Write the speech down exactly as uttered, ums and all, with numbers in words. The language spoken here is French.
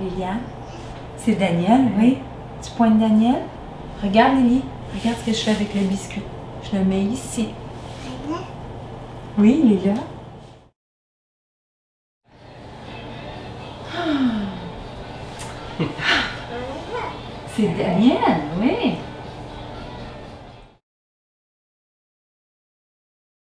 Liliane? C'est Daniel, oui. Tu pointes Daniel? Regarde, Lily. Regarde ce que je fais avec le biscuit. Je le mets ici. Oui, il est là. C'est Daniel, oui.